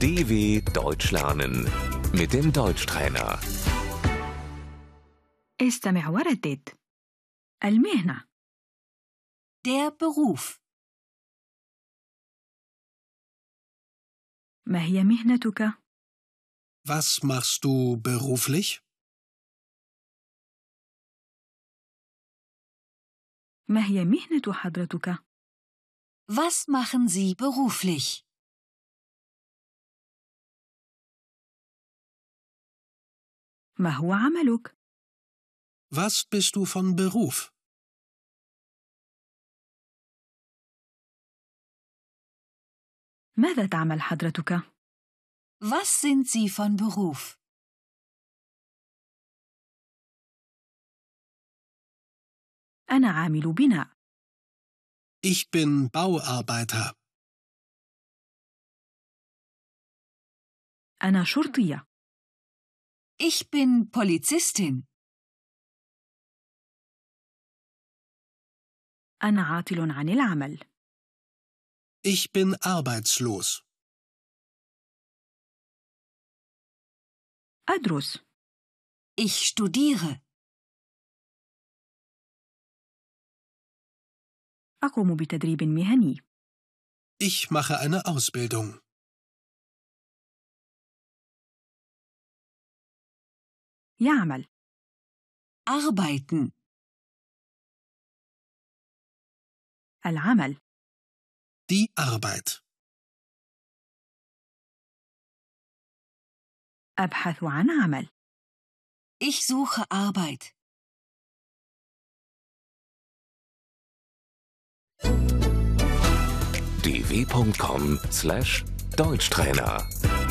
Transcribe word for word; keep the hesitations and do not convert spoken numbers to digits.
D W Deutsch lernen mit dem Deutschtrainer. استمع وردد. المهنة. Der Beruf. ما هي مهنتك؟ Was machst du beruflich? ما هي مهنة حضرتك؟ Was machen Sie beruflich? ما هو عملك؟ Was bist du von Beruf? ماذا تعمل حضرتك؟ Was sind Sie von Beruf? أنا عامل بناء. Ich bin Bauarbeiter. أنا شرطية. Ich bin Polizistin. أنا عاطل عن العمل. Ich bin arbeitslos. أدرس. Ich studiere. أقوم بتدريب مهني. Ich mache eine Ausbildung. يعمل. Arbeiten. العمل. Die Arbeit. أبحث عن عمل. Ich suche Arbeit. d w punkt com slash Deutschtrainer